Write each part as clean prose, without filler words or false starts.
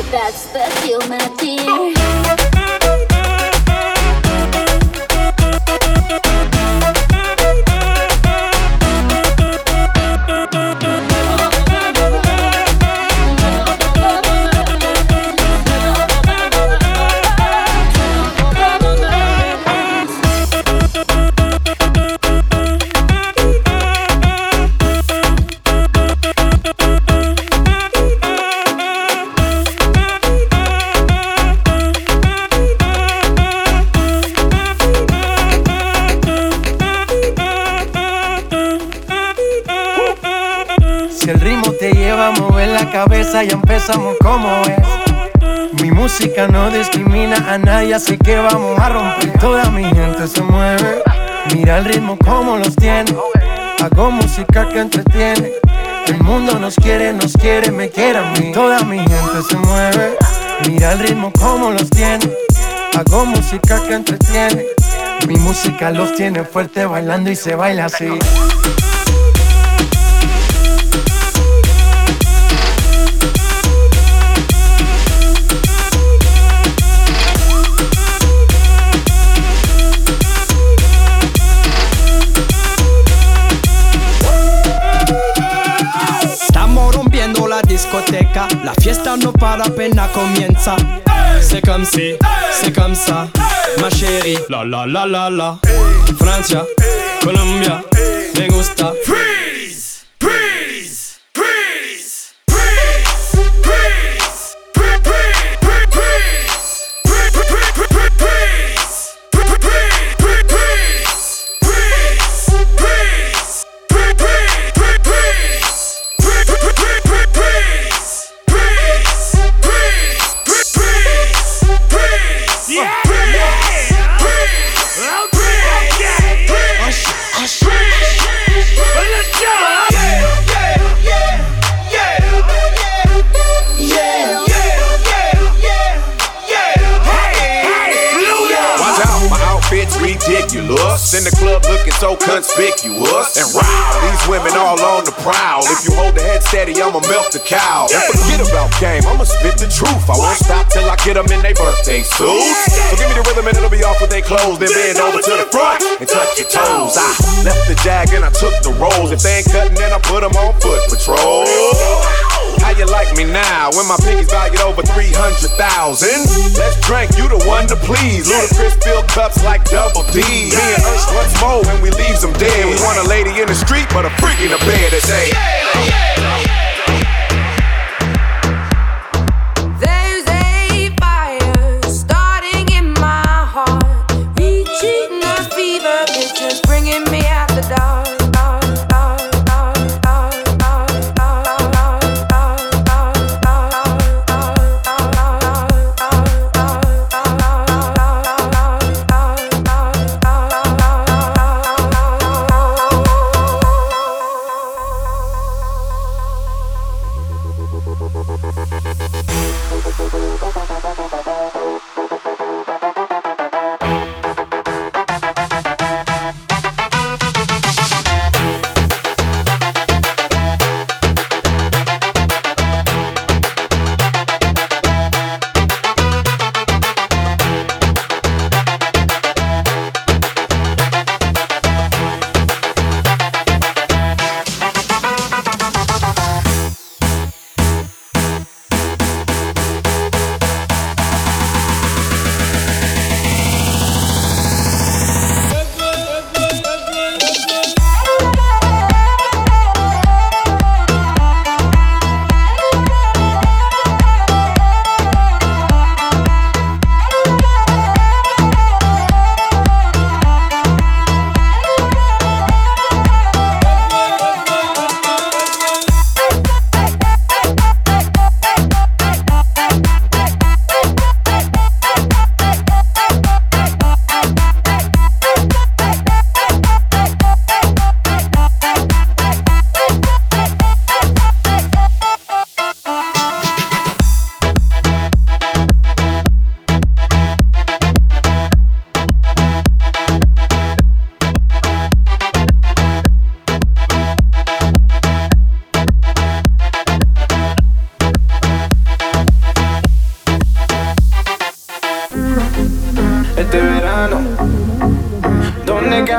but that's the deal, my dear. Cabeza, ya empezamos como es. Mi música no discrimina a nadie, así que vamos a romper. Toda mi gente se mueve, mira el ritmo como los tiene. Hago música que entretiene. El mundo nos quiere, me quiere a mí. Toda mi gente se mueve, mira el ritmo como los tiene. Hago música que entretiene. Mi música los tiene fuerte bailando y se baila así. Discoteca, la fiesta no para apenas comienza. C'est comme si, c'est comme ça, ma chérie. La la la la la. Francia, Colombia, me gusta. Freeze, freeze, freeze, freeze, freeze, ridiculous. In the club looking so conspicuous. And wow, these women all on the prowl. If you hold the head steady, I'ma milk the cow. And forget about game, I'ma spit the truth. I won't stop till I get them in their birthday suits. So give me the rhythm and it'll be off with their clothes. Then bend over to the front and touch your toes. I left the jag and I took the rolls. If they ain't cutting, then I put them on foot patrol. How you like me now when my pinky's valued over 300,000? Let's drink, you the one to please. Ludacris fill cups like Double D. Me and Ursh once more when we leaves them dead. We want a lady in the street, but a freak in the bed that say, There's a fire starting in my heart, reaching a fever pitch, just bringing me out the dark.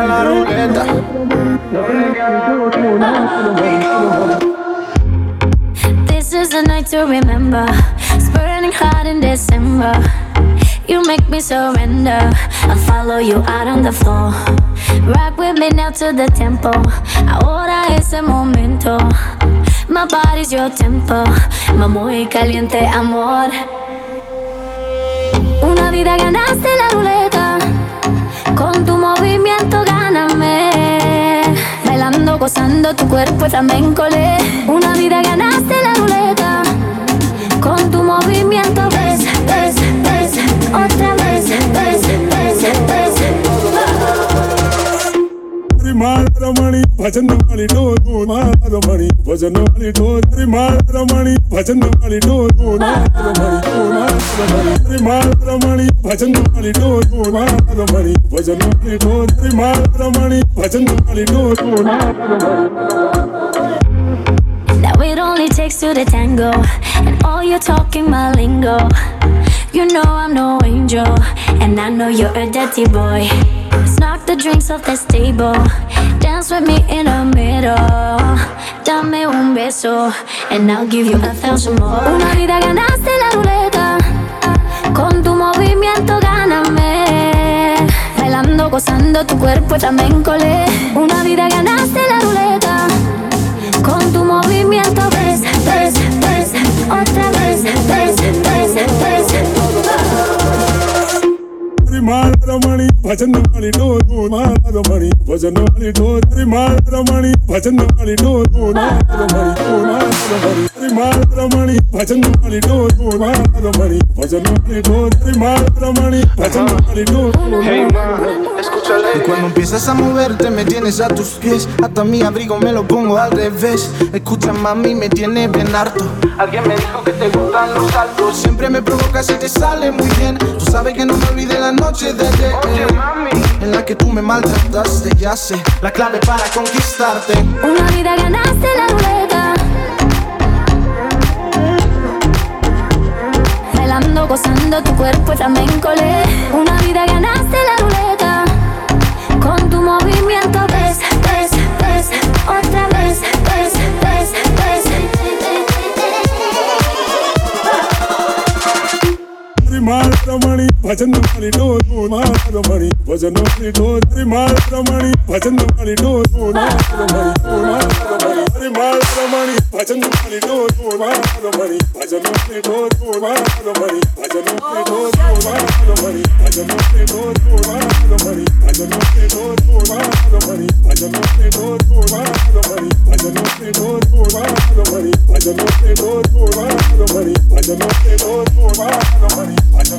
a la ruleta. This is a night to remember. It's burning hot in December. You make me surrender. I'll follow you out on the floor. Rock with me now to the tempo. Ahora es el momento. My body's your tempo. Muy caliente amor. Una vida ganaste la ruleta. Con tu movimiento gáname. Bailando, gozando tu cuerpo flamenco. Una vida ganaste la ruleta. Con tu movimiento ves, ves, ves. Otra vez, ves, ves, ves. Ramani, bhajan wali do Ramani, bhajan wali do Ramani, bhajan wali do Ramani, bhajan wali do Ramani, bhajan wali do Ramani, bhajan wali do. Now it only takes two to tango, and all you're talking my lingo. You know I'm no angel, and I know you're a dirty boy. Let's knock the drinks off this table. Dance with me in the middle. Dame un beso, and I'll give you 1,000 more. Una vida ganaste la ruleta. Con tu movimiento gáname. Bailando, gozando tu cuerpo flamenco. Una vida ganaste la ruleta. Con tu movimiento ves, ves, ves. Otra vez, ves, ves, ves. Ramani, bhajan wali do Ramani, bhajan wali do Ramani, bhajan wali do Ramani, bhajan wali do Ramani, bhajan wali do Ramani, bhajan wali do. Hey man, escúchale. Y cuando empiezas a moverte me tienes a tus pies. Hasta mi abrigo me lo pongo al revés. Escucha mami, me tiene bien harto. Alguien me dijo que te gustan los saltos. Siempre me provocas y te sale muy bien. Tú sabes que no me olvidé la noche de ayer. Oye mami, en la que tú me maltrataste. Ya sé, la clave para conquistarte. Una vida ganaste la ruleta. Bailando, gozando tu cuerpo flamenco. Una vida ganaste la ruleta. Con tu movimiento ves, ves, ves. Otra vez, ves, ves, ves. Ramani, bhajan wali do Ramani, bhajan wali do Ramani, bhajan wali do Ramani, bhajan wali do Ramani, bhajan wali do Ramani, bhajan wali do Ramani, bhajan wali do Ramani, bhajan wali do Ramani, bhajan wali do Ramani, bhajan wali do Ramani, bhajan wali do Ramani, bhajan wali do Ramani.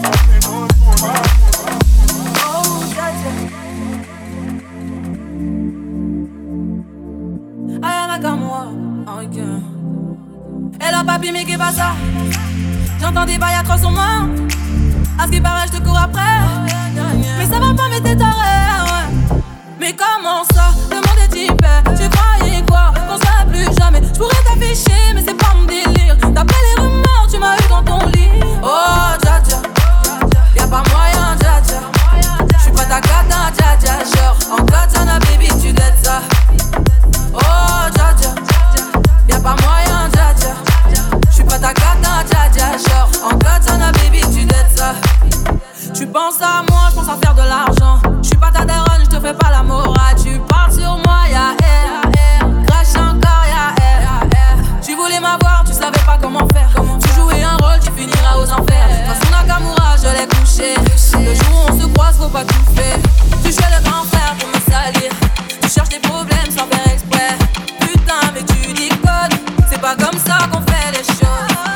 Ayana comme moi, ok. Et là papi mais qui va ça? J'entends des bails trop sur moi. À ce qui paraît je te cours après. Mais ça va pas mais t'es taré, ouais. Mais comment ça? Le monde est hyper. Tu croyais quoi? Qu'on serait plus jamais. Je pourrais t'afficher mais c'est pas mon délire. D'après les rumeurs tu m'as eu dans ton lit. Oh dja dja, y'a pas moyen dja dja. J'suis pas ta gata dja dja. Genre en katana baby tu dettes ça. Oh dja dja, y'a pas moyen dja dja. J'suis pas ta gata dja dja. Genre en katana baby tu dettes ça. Tu penses à moi, j'pense à faire de l'argent. J'suis pas ta daronne, j'te fais pas la morale. Tu parles sur moi, y'a air. Crash encore, y'a air. Tu voulais m'avoir, tu savais pas comment faire. Tu jouais un rôle, tu finiras aux enfers. Dans son Nakamura, je l'ai couché. Le jour où on se croise, faut pas tout faire. Tu jouais le grand frère pour me salir. Tu cherches des problèmes sans faire exprès. Putain, mais tu déconnes. C'est pas comme ça qu'on fait les choses.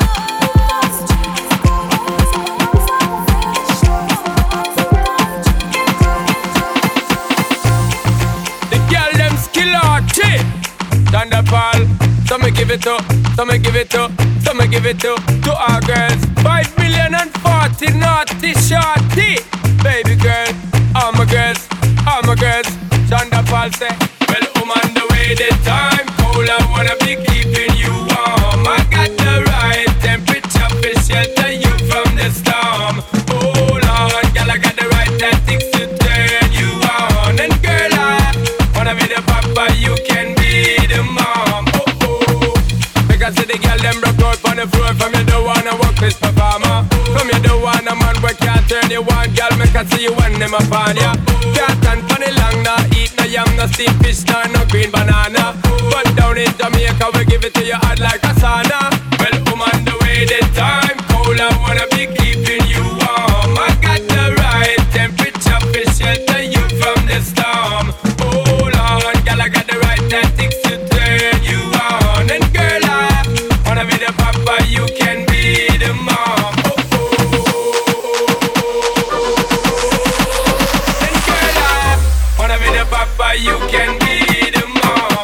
Thunderball, so me give it up, so me give it up, so me give it up to our girls. 5 million and 40 naughty shorty. Baby girl, all my girls, all my girls. Thunderball say, well, I'm on the way this time. Cold, I wanna be keeping you warm. I got the right temperature for shelter you from the storm. Hold on, girl, I got the right tactics to turn you on. And girl, I farmer. From you don't want a man where can't turn you on, girl, make I see you when them upon ya. Can't stand for the long, nah, eat no yam, no steamed fish, nah, no green banana. But down in Jamaica, we give it to you hot like a sauna. Well, on the way the time cold, I wanna be keeping you warm. I got the right temperature to shelter you from the storm. Hold on, girl, I got the right tactics to turn you on. And girl, I wanna be the papa, you can be the mom. And girl, I wanna be the papa, you can be the mom.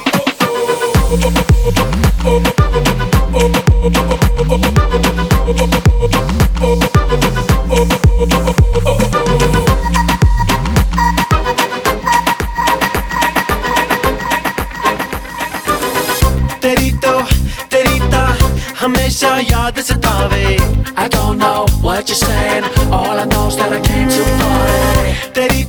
हमेशा याद सतावे. I don't know what you're saying, all I know is that I came to party. तेरी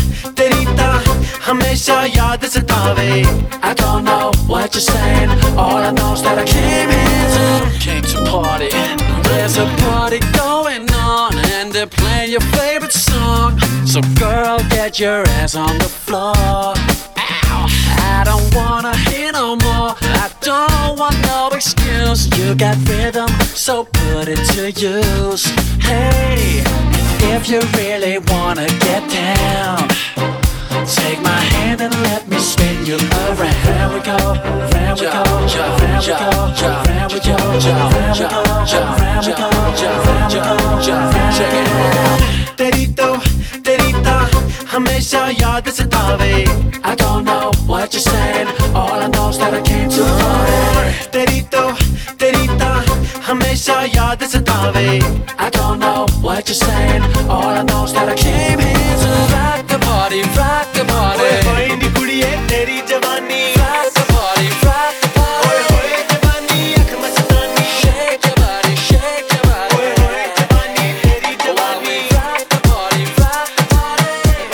हमेशा याद सतावे. I don't know what you're saying, all I know is that I came to party. There's a party going on and they're playing your favorite song. So girl, get your ass on the floor. I don't wanna hear no more. I don't want no excuse. You got rhythm, so put it to use. Hey, if you really wanna get down, take my hand and let me spin you around. Round we go, round we go, round we go, round we go, round we go, round we go, round we go. Check it out. तेरी हमेशा याद सतावे. I don't know what you're saying, all I know is that I came to party. तेरी हमेशा याद सतावे. I don't know what you're saying, all I know is that I came here to rock the party, rock the party. ओए नी कुड़िए तेरी जवानी, rock the party, rock the party. ओए जवानी अख मस्तानी, shake your body, shake your body. ओए जवानी तेरी जवानी, rock the party, rock the party.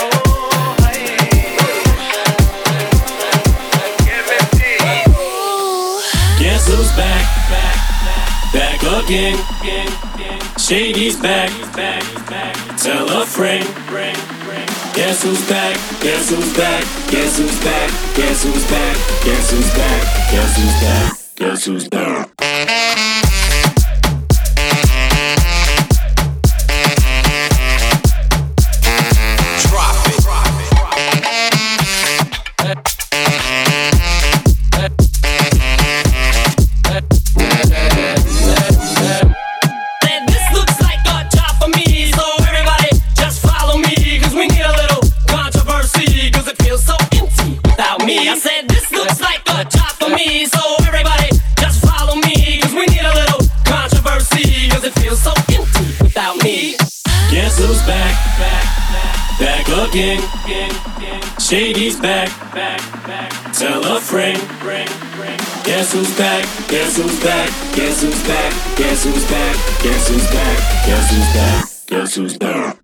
Guess who's back again? Shady's back. Tell a friend. Guess who's back? Guess who's back? Guess who's back? Guess who's back? Guess who's back? Guess who's back? Guess who's back? I said this looks like a job for me, so everybody just follow me, cause we need a little controversy, cause it feels so empty without me. Guess who's back again? Shady's back. Tell a friend. Guess who's back? Guess who's back? Guess who's back? Guess who's back? Guess who's back? Guess who's back? Guess who's back?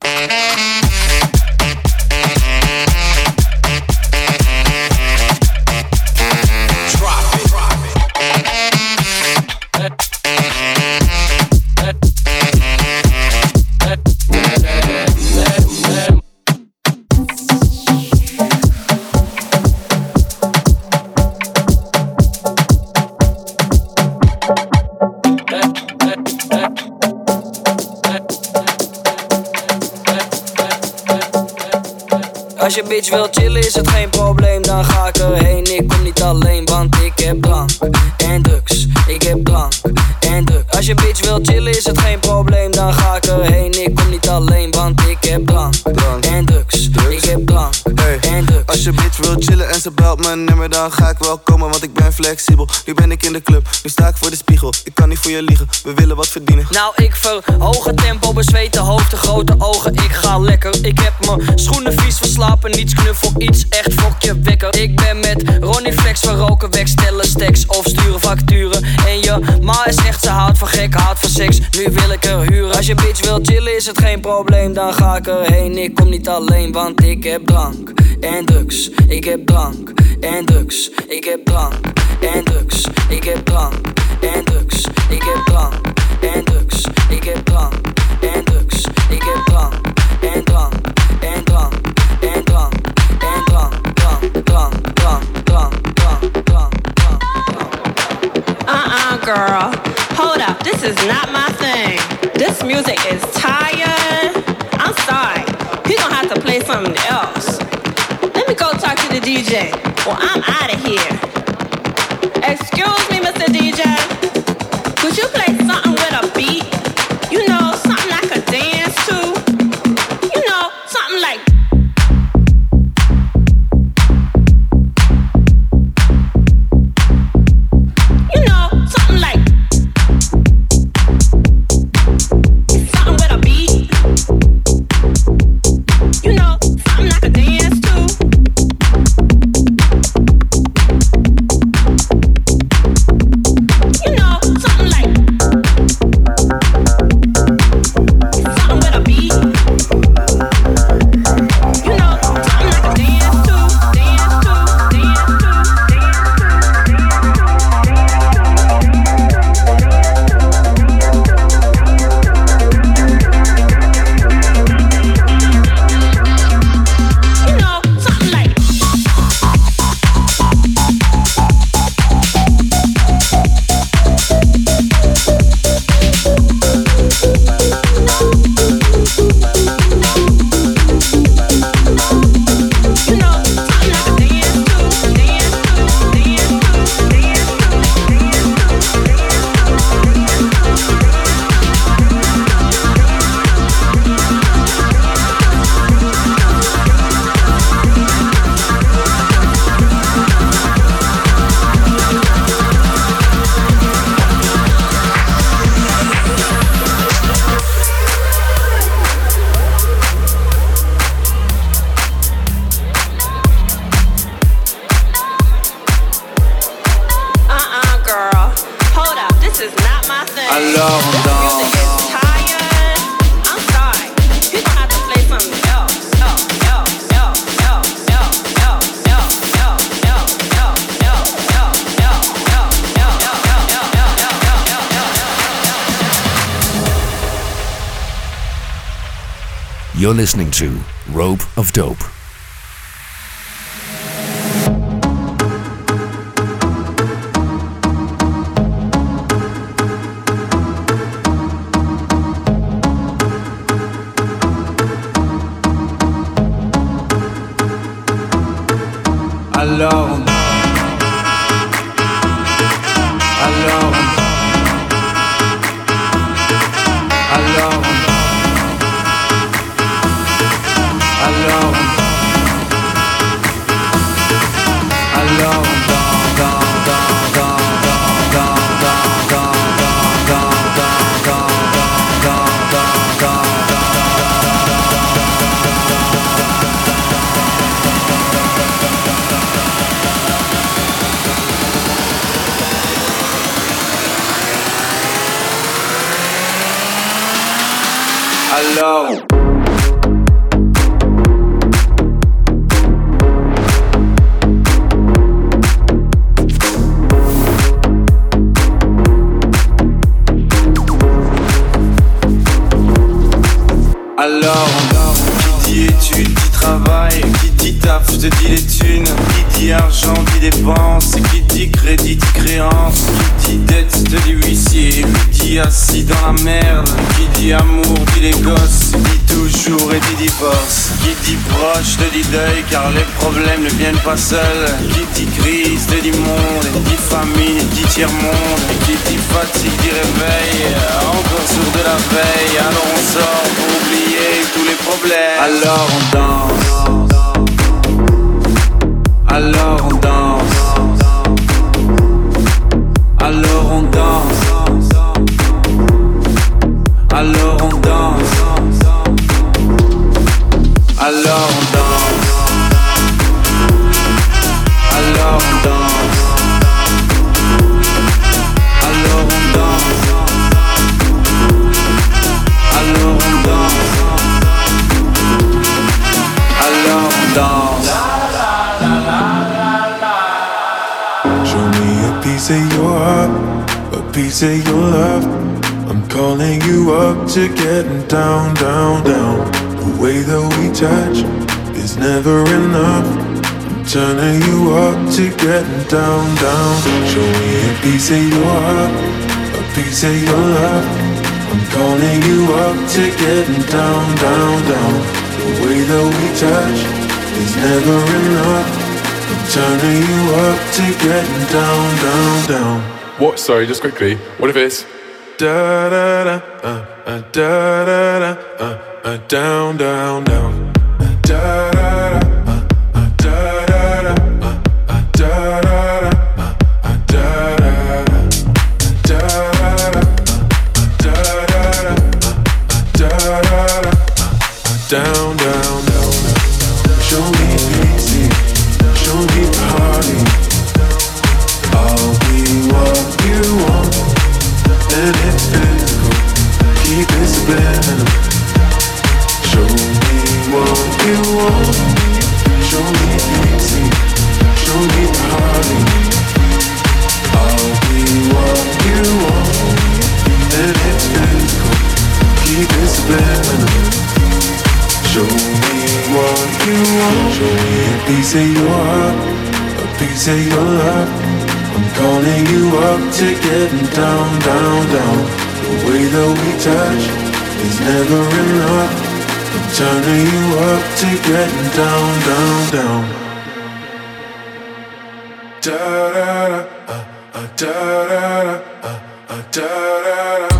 Als je bitch wil chillen is het geen probleem, dan ga ik erheen. Ik kom niet alleen, want ik heb drank en drugs. Ik heb drank en drugs. Als je bitch wil chillen is het geen probleem, dan ga ik erheen. Ik kom niet alleen, want ik heb drank en drugs. Ik heb drank en drugs. Als je bitch wil chillen en ze belt mijn nummer, dan ga ik wel komen, want ik ben flexibel. Nu ben ik in de club, nu sta ik voor de spiegel. Ik kan niet voor je liegen, we willen wat verdienen. Nou ik verhoog het tempo, bezweten hoofd, de grote ogen. Ik ga lekker, ik heb mijn schoenen vies verslapen. Niets knuffel, iets echt fokje wekker. Ik ben met Ronnie Flex, we roken weg, stellen stacks of sturen facturen. En je ma is echt, ze houdt van gek, houdt van seks. Nu wil ik er huren. Als je bitch wil chillen is het geen probleem, dan ga ik erheen. Ik kom niet alleen, want ik heb drank en drugs. Ik heb drank en drugs. Ik heb drank en drugs. Ik heb drank en drugs. Ik heb drank en drugs. Ik heb drank. music is tired. I'm sorry. He gonna have to play something else. Let me go talk to the DJ. Well, I'm out of here. Excuse me, Mr. DJ. Could you play something with a beat? You know, something I could dance to? You know, something like. You know, something like. Something with a beat. You know, something I could dance to. You know, something like. Something with a beat. You know, something I could dance to, dance to, dance to, you know, something like. You know, something I could dance to, dance to, dance to, dance girl. Hold up, this is not my thing. Alors on danse. Music is tired. I'm sorry. You gonna have to play something else. You're listening to Rope of Dope. Alors on danse. Alors on danse. Alors on danse. Alors on danse. Alors on danse, danse, danse, danse, danse, danse, danse, danse, danse, danse, alors. Alors, qui dit études, dit travail, qui dit taf, te dit les thunes, qui dit argent, dit dépenses, qui dit crédit, dit créance, qui dit dette, te dit huissier, qui dit assis dans la merde, qui dit amour, dit les gosses, dit toujours et dit divorce, qui dit proche, te dit deuil, car les problèmes ne viennent pas seuls, qui dit crise, te dit monde, dit famine, dit tiers-monde, qui dit fatigue, dit réveil, encore sourd de la veille, alors on sort pour oublier tous les problèmes. Alors on danse. Alors on danse. Alors on danse. Alors on danse. Alors on danse. Alors on danse. Alors on danse. Alors on danse. Alors on danse. Show me a piece of your heart, a piece of your love. I'm calling you up to getting down, down, down. The way that we touch is never enough. I'm turning you up to getting down, down. Show me a piece of your heart, a piece of your love. I'm calling you up to getting down, down, down. The way that we touch is never enough. I'm turning you up to getting down, down, down. What? Sorry, just quickly. What if it's da da da da da da down, down, down. Da da da da da da da down, down, down. Show me easy, show me party. I'll be what you want, and it's physical. Keep it subliminal. Show me what you want. Show me easy, show me party. I'll be what you want, and it's physical. Keep it subliminal. Show me what you want. Show me a piece of your heart, a piece of your love. I'm calling you up to getting down, down, down. The way that we touch is never enough. I'm turning you up to getting down, down, down. Da da da da da da da da.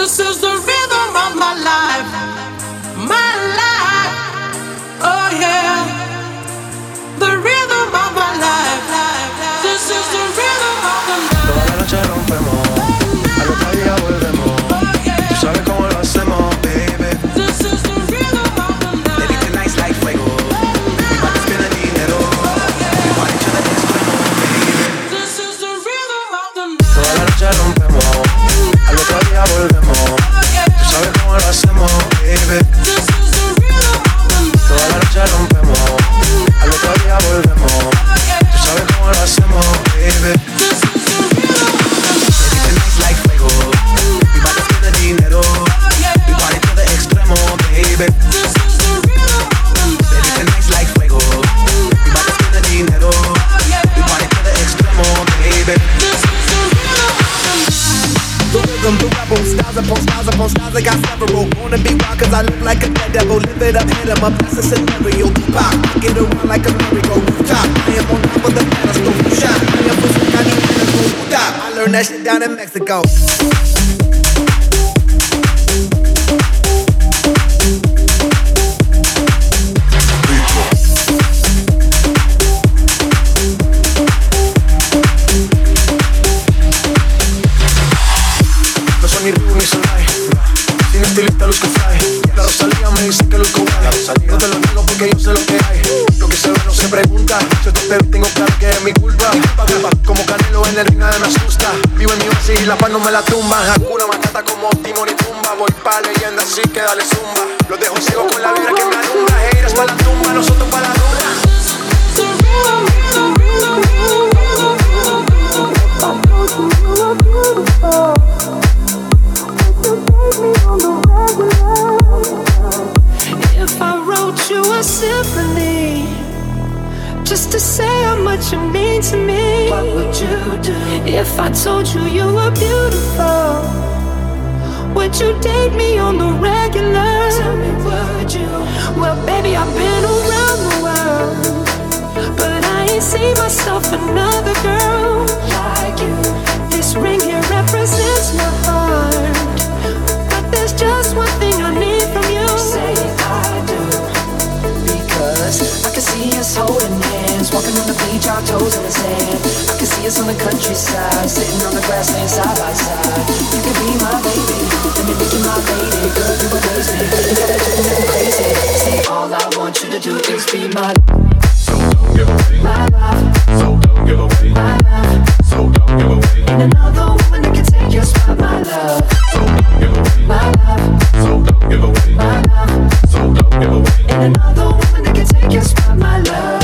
This is the rhythm of my life. My life. Oh yeah. The rhythm of my life. This is the rhythm of the night. Toda la noche rompemos, al otro día volvemos. Tú sabes cómo lo hacemos, baby. This is the rhythm of the night. Baby, tonight's like fuego. Mi party es de dinero. Mi party hecho de extremo, baby. This is the rhythm of the night. Toda la noche rompemos, al otro día volvemos. Tú sabes cómo lo hacemos, baby. This is the rhythm of the night. Toda la noche rompemos, al otro día volvemos. Tú sabes cómo lo hacemos, baby. This is the rhythm of the night. Baby, tonight's like fuego. Mi party es de dinero. Mi party hecho de extremo, baby. This is the rhythm of the night. Baby, tonight's like fuego. Mi party es de dinero. Mi party hecho de extremo, baby. This is the rhythm of the night. The rhythm, the rebel, styles upon styles upon styles, I got several. Wanna be wild cause I look like a dead devil. Live it up, hit 'em up, that's a scenario. Pop, get around like a merry-go. Top, I am on top of the pedestal. Shot, I am pushing, I need medical. Stop, I learned that shit down in Mexico. No soy ni Ribu ni Solay. Sin estilista luzco fly. La Rosalía me dice que luzco guay. No te lo digo porque yo sé lo que hay. Lo que se ve no se pregunta. Si te pego tengo claro que es mi culpa. Como Canelo en el ring nada me asusta. Vivo en mi oasis y la paz no me la tumba. Hakuna Matata como Timón y Pumba. Voy pa' leyenda así que dale zumba. Los dejo ciego con la vibra que me alumbra. Heiras pa' la tumba, nosotros pa' la rumba. If I wrote you a symphony just to say how much you mean to me, what would you do? If I told you you were beautiful, would you date me on the regular? Tell me, would you? Well, baby, I've been around the world, but I ain't seen myself another girl like you. This ring here represents my heart, but there's just one thing I need from you. Say I do, because I can see us holding hands, walking on the beach, our toes in the sand. I can see us on the countryside, sitting on the grassland side by side. You can be my baby, let me make you my lady. Girl, you amaze me, you got me doing nothing crazy. Say all I want you to do is be my love. So don't give away my love. So don't give away my love. So don't give away. Ain't another woman that can take your spot, my love. So don't give away my love. So don't give away my love. So don't give away. Ain't another woman that can take your spot, my love.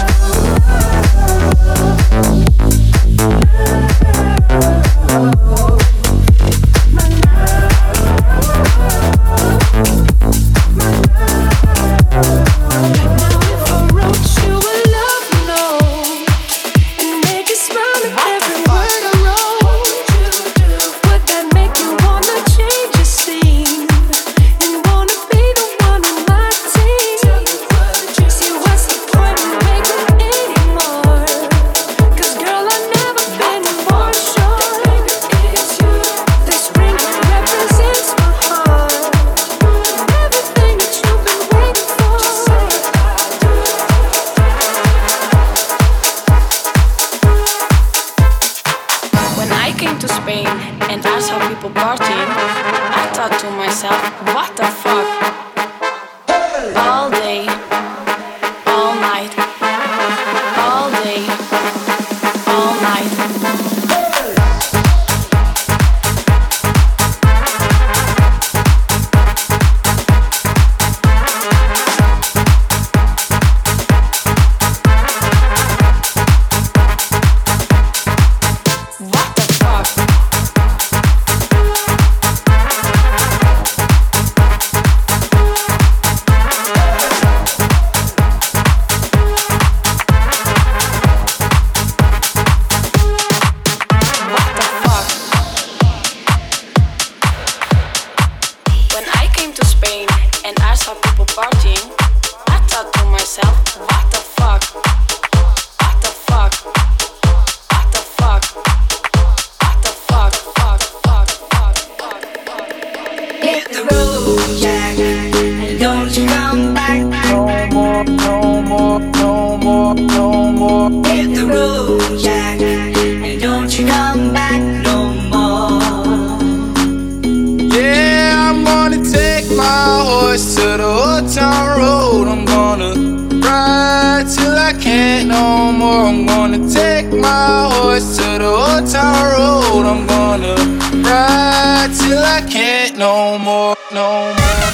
I'm gonna take my horse to the old town road. I'm gonna ride till I can't no more, no more.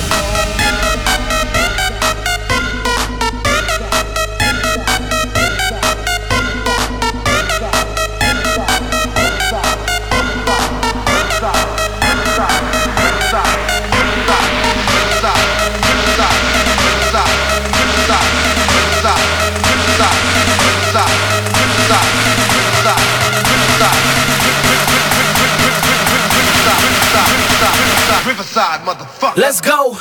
Riverside, motherfucker. Let's go.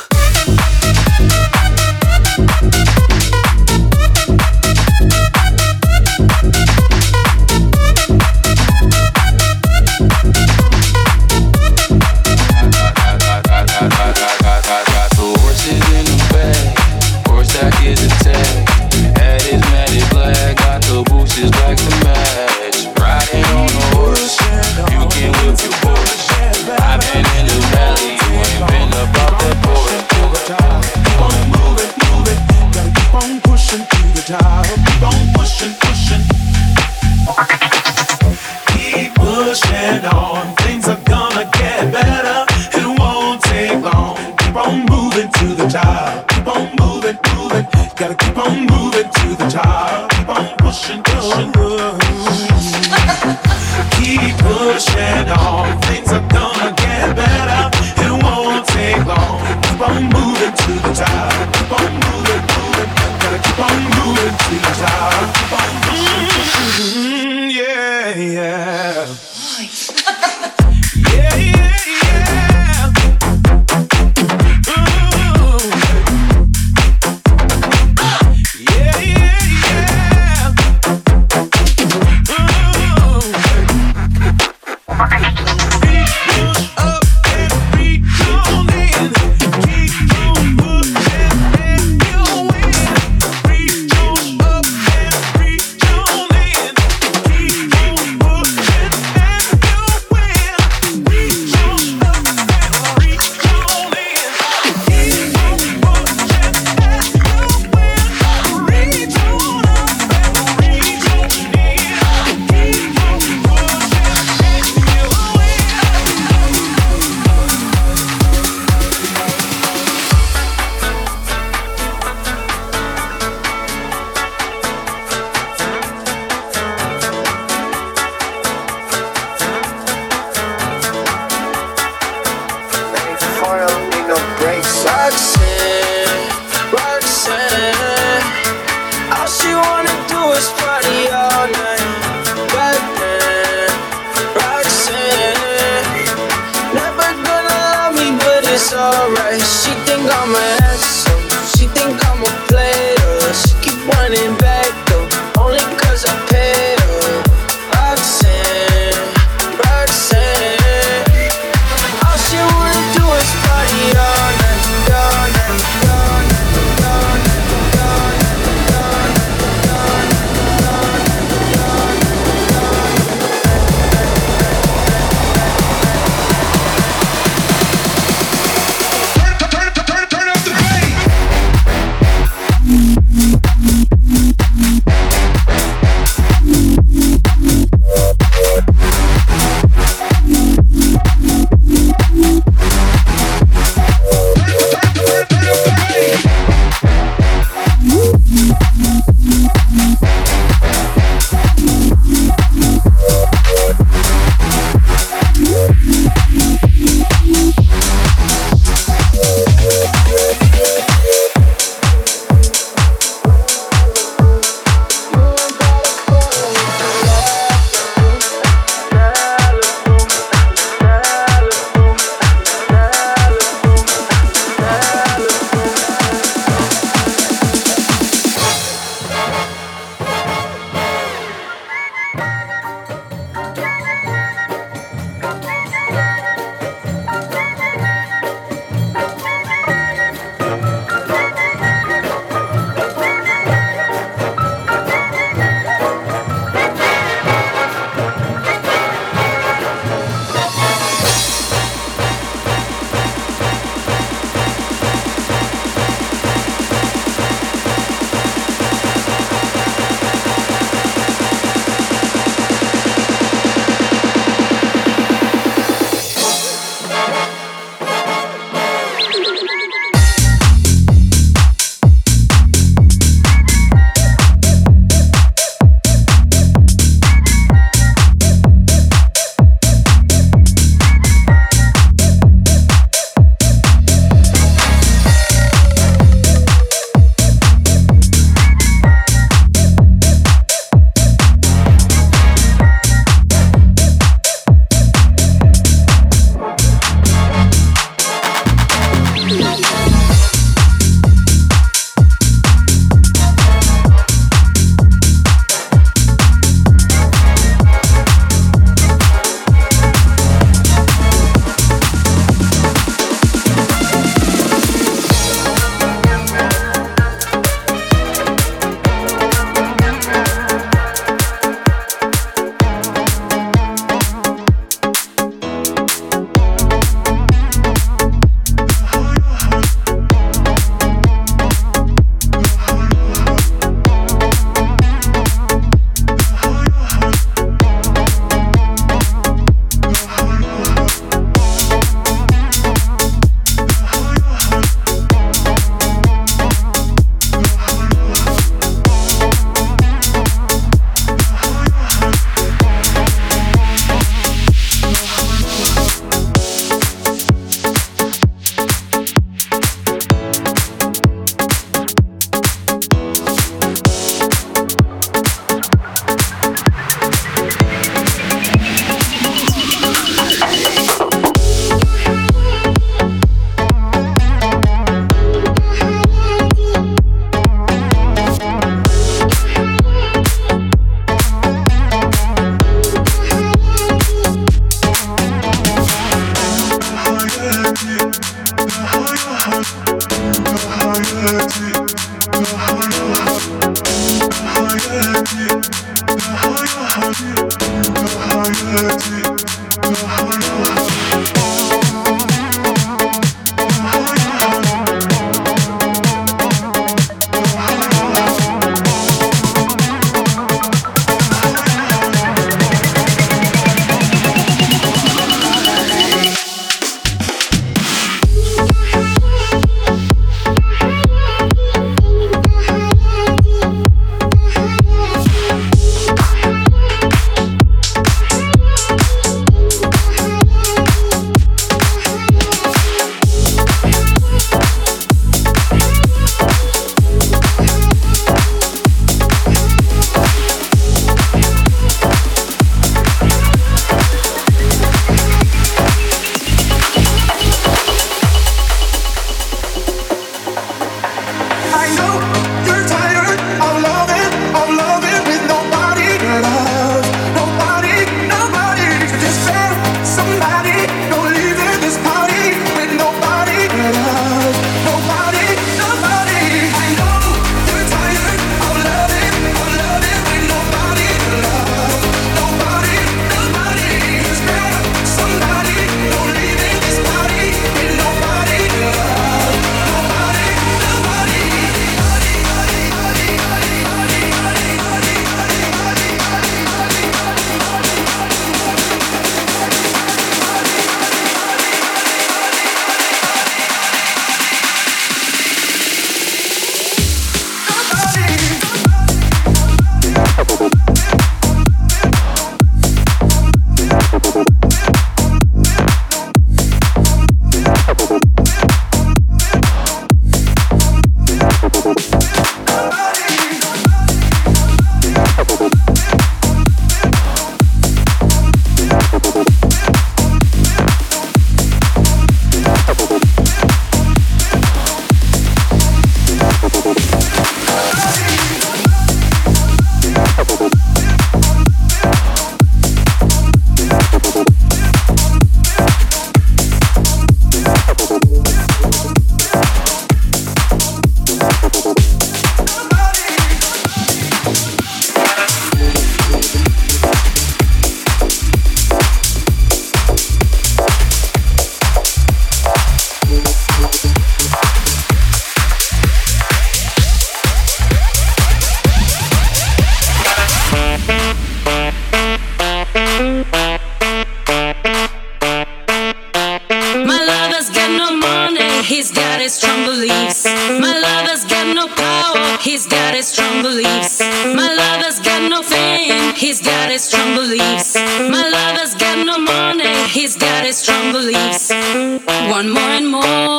he's got his strong beliefs. My lover's got no power, he's got his strong beliefs. My lover's got no fame, he's got his strong beliefs. My lover's got no money, he's got his strong beliefs. Want more and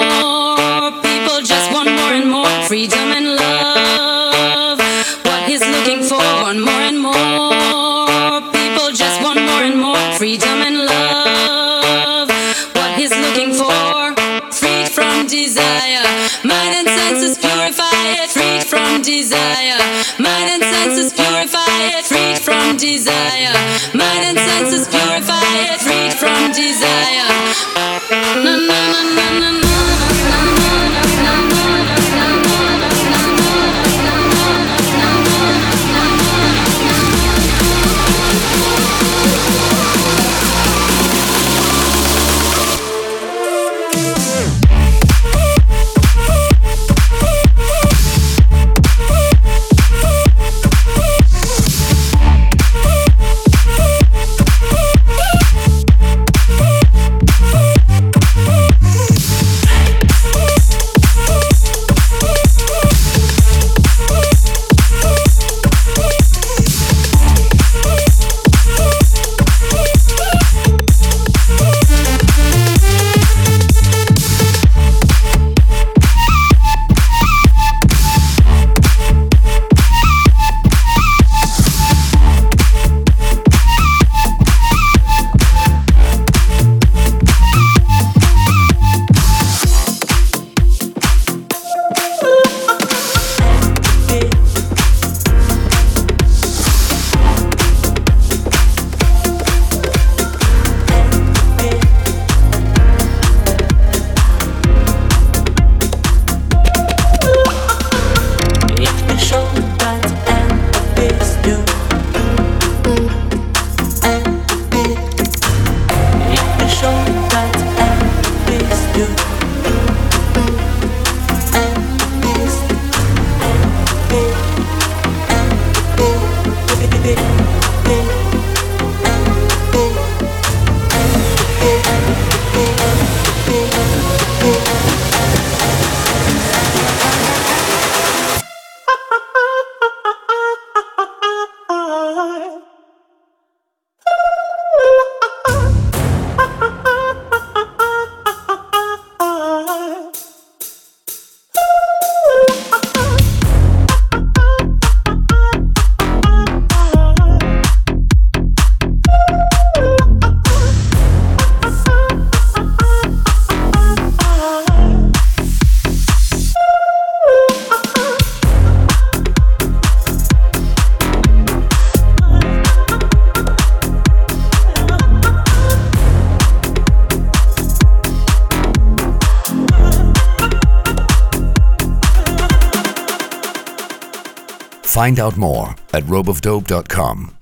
more, people just want more and more. Freedom and love, what he's looking for. Want more and more, people just want more and more. Freedom and love, what he's looking for. Freed from desire, mind and senses purify it. Freed from desire, mind and senses purify it. Freed from desire, mind and senses purify it. Freed from desire. Na na na na na na. Find out more at ropeofdope.com.